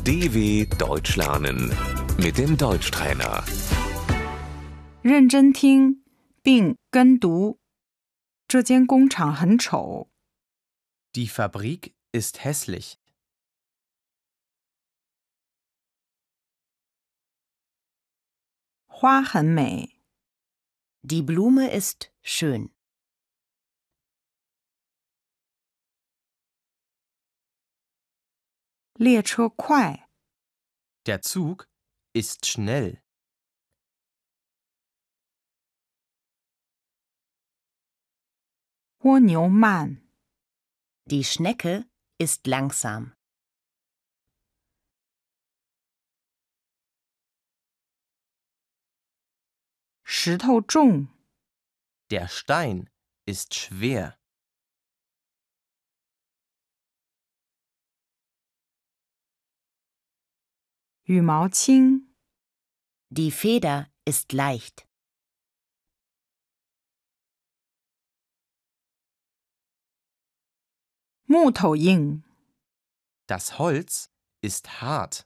DW Deutsch lernen mit dem Deutschtrainer. 认真听并跟读。这间工厂很丑。 Die Fabrik ist hässlich. 花很美。 Die Blume ist schön. 列车快。 Der Zug ist schnell. 蜗牛慢。 Die Schnecke ist langsam. 石头重。 Der Stein ist schwer. 羽毛轻。 Die Feder ist leicht. 木头硬。 Das Holz ist hart.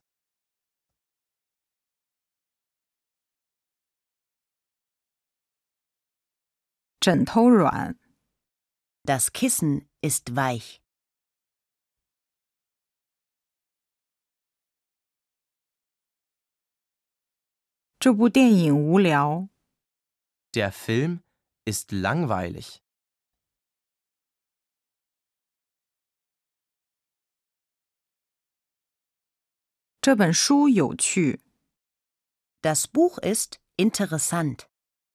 枕头软。 Das Kissen ist weich. 这部电影无聊。 Der Film ist langweilig. 这本书有趣。 Das Buch ist interessant.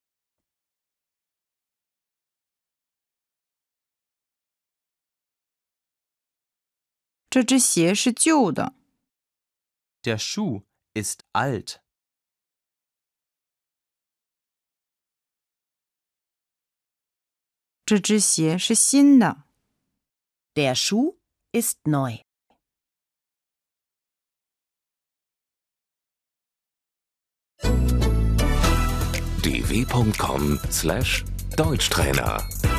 这只鞋是旧的。 Der Schuh ist alt. 这只鞋是新的。 Der Schuh ist neu. dw.com/Deutschtrainer